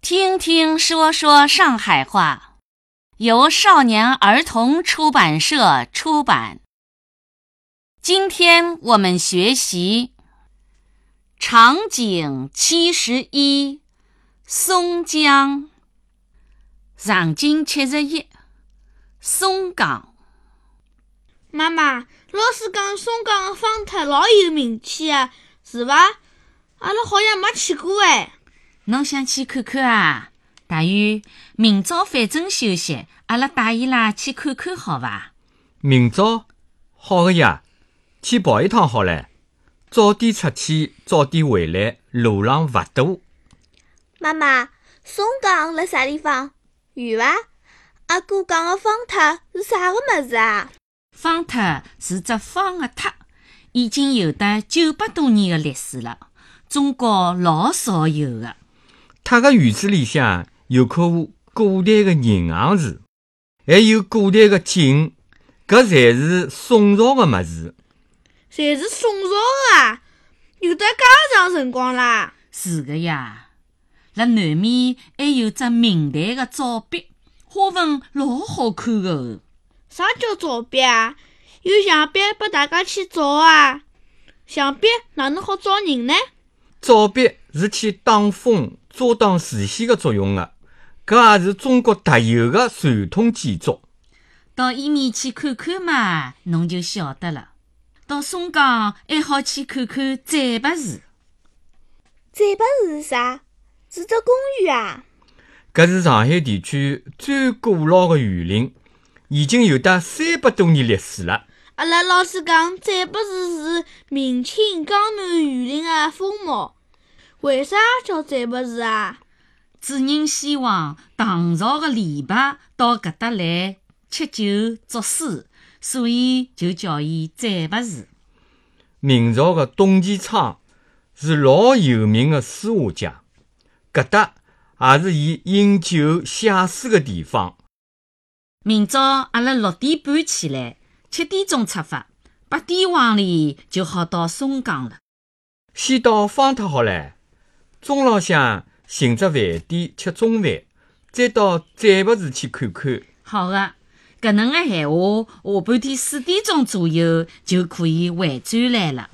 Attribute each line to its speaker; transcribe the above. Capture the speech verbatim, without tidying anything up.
Speaker 1: 听听说说上海话，由少年儿童出版社出版。今天我们学习场景七十一，松江。场景七十一，松江。
Speaker 2: 妈妈，老师讲松江的方特老有名气啊，是伐？阿拉好像没去过哎。
Speaker 1: 侬想去看看啊？大鱼，明朝反正休息，阿拉带伊拉去看看好伐？
Speaker 3: 明朝好个呀，去跑一趟好唻。早点出去，早点回来，路浪勿堵。
Speaker 4: 妈妈，松江辣啥地方？远伐？阿哥讲个方特是啥个物事啊？
Speaker 1: 方特是只方个特，已经有得九百多年的历史了，中国老少有的。
Speaker 3: 他个院子里向有棵古代的银杏树，还有古代的井，搿侪是宋朝的物事。
Speaker 2: 侪是宋朝的啊？有得介长辰光啦？
Speaker 1: 是的呀，辣南面还有只明代的照壁，花纹老好看的哦。
Speaker 2: 啥叫照壁啊？有墙壁拨大家去照啊？墙壁哪能好照人呢？
Speaker 3: 照壁是去挡风遮挡视线的作用的，搿也是中国特有的传统建筑。
Speaker 1: 到伊面去看看嘛，侬就晓得了。到松江还好去看看展白树。
Speaker 4: 展白树是啥？是只公园啊？
Speaker 3: 搿是上海地区最古老的园林，已经有得三百多年历史了。
Speaker 2: 阿拉老师讲展白树是明清江南园林的风貌，为啥叫展白树啊？
Speaker 1: 主人希望唐朝的李白到搿搭来吃酒作诗，所以就叫伊展白树。
Speaker 3: 明朝的董其昌是老有名的书画家，搿搭也是伊饮酒写诗的地方。
Speaker 1: 明朝阿拉六点半起来，七点钟出发，八点往里就好到松江了。
Speaker 3: 先到方特好唻，中浪向寻只饭店吃中饭，再到展白树去看看。
Speaker 1: 好的，搿能个闲话，下半天四点钟左右就可以回转来了。